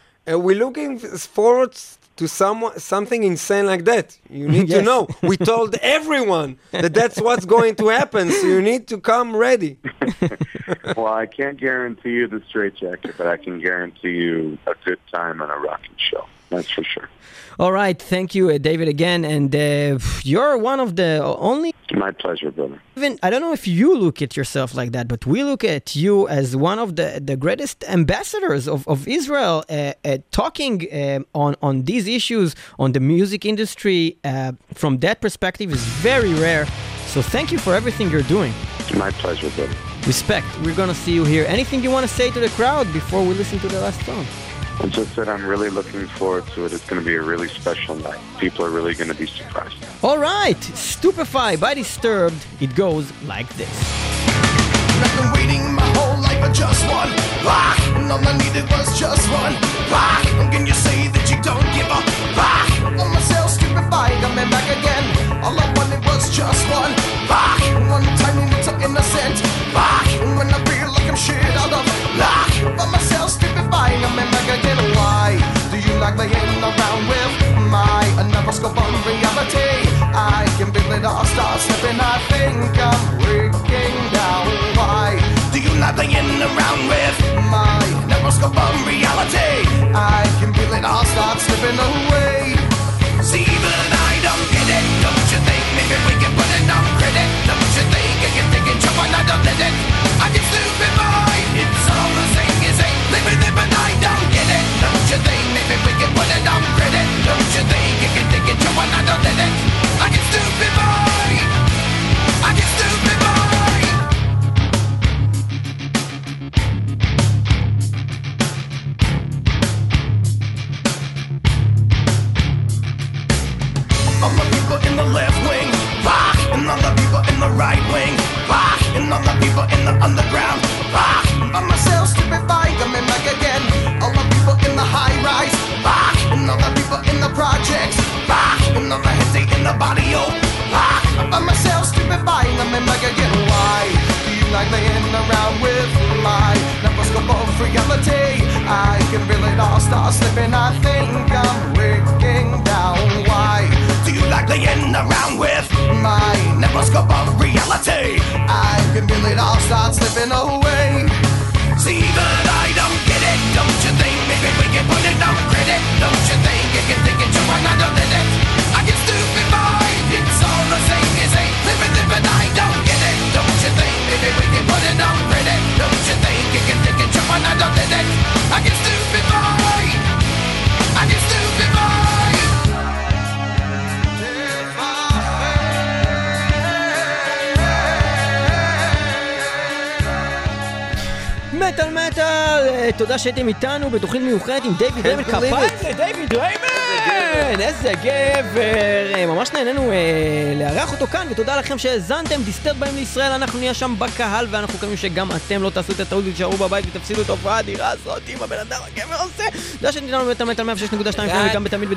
something insane like that. You need to know. We told everyone that's what's going to happen, so you need to come ready. Well, I can't guarantee you the straitjacket, but I can guarantee you a good time and a rocking show. That's for sure. All right. Thank you, David, again. And you're one of the only... My pleasure, brother. Even, I don't know if you look at yourself like that, but we look at you as one of the greatest ambassadors of Israel, talking on these issues, on the music industry. From that perspective is very rare. So thank you for everything you're doing. My pleasure, brother. Respect. We're going to see you here. Anything you want to say to the crowd before we listen to the last song? I just said I'm really looking forward to it. It's going to be a really special night. People are really going to be surprised. All right. Stupefy by Disturbed. It goes like this. I've been waiting my whole life for just one rock, and all I needed was just one rock. And can you say that you don't give a rock? On myself stupefied, I'm back again. All I wanted was just one rock. One tiny little innocent rock. And when I feel like I'm shit out of luck, on myself stupefied, I'm back again. Why do you like playing around with my never-scope on reality? I can feel it all start slipping. I think I'm breaking down. Why do you like playing around with my never-scope on reality? I can feel it all start slipping away. See, but I don't get it. Don't you think maybe we can put it on credit? Don't you think I can take it, jump on, I don't let it. I get stupefied. It's all the same as ain't living it, but I don't get it. Don't you think maybe we can put it on credit? Don't you think I can take it, jump on, I don't let it. right wing. And all the people in the underground. By myself, stupefy, coming back again. All the people in the high rise. And all the people in the projects. And all the heads in the body, oh. By myself, stupefy, coming back again. Why do you like laying around with my microscope of reality? I can feel it all start slipping. I think I'm breaking down. Why do you like laying around with my microscope of reality? I can feel it all start slipping away. See that I don't get it, don't you think? Maybe we can put it on credit, don't you think? You can think it, you might not have did it. I get stupid mind, it's all the same as a living, I don't get it, don't you think? Maybe we can put it on credit, don't you think? You can think it, you might not have did it. I get stupid mind, I get stupid mind. מטל מטל, תודה שהייתם איתנו בתוכנית מיוחדת עם דיוויד ריימן. כפיים לדיוויד ריימן, איזה גבר, ממש נהנינו לארח אותו כאן, ותודה לכם שהזנתם. דיסטרט באים לישראל, אנחנו נהיה שם בקהל, ואנחנו מקווים שגם אתם לא תעשו את הטעות ותשארו בבית ותפסידו את ההופעה האדירה הזאת עם הבן אדם הגבר עושה. תודה שהייתם איתנו במטל מטל 106.2 וגם בתמיד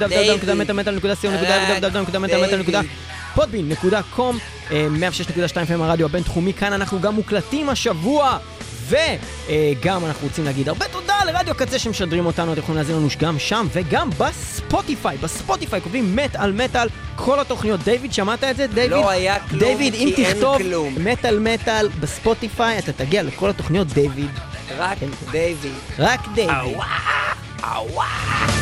www.podbean.com 106.2 הרדיו הבינתחומי. כאן אנחנו גם מוקלטים השבוע, וגם אנחנו רוצים להגיד הרבה תודה לרדיו קצה שמשדרים אותנו. אתם יכולים להזין לנו גם שם וגם בספוטיפיי. בספוטיפיי קובלים מטל מטל כל התוכניות. דיוויד, שמעת את זה? דיוויד, לא היה כלום, דיוויד, אם תכתוב מטל מטל בספוטיפיי אתה תגיע לכל התוכניות. דיוויד, רק דיוויד. רק דיוויד. אווה, אווה.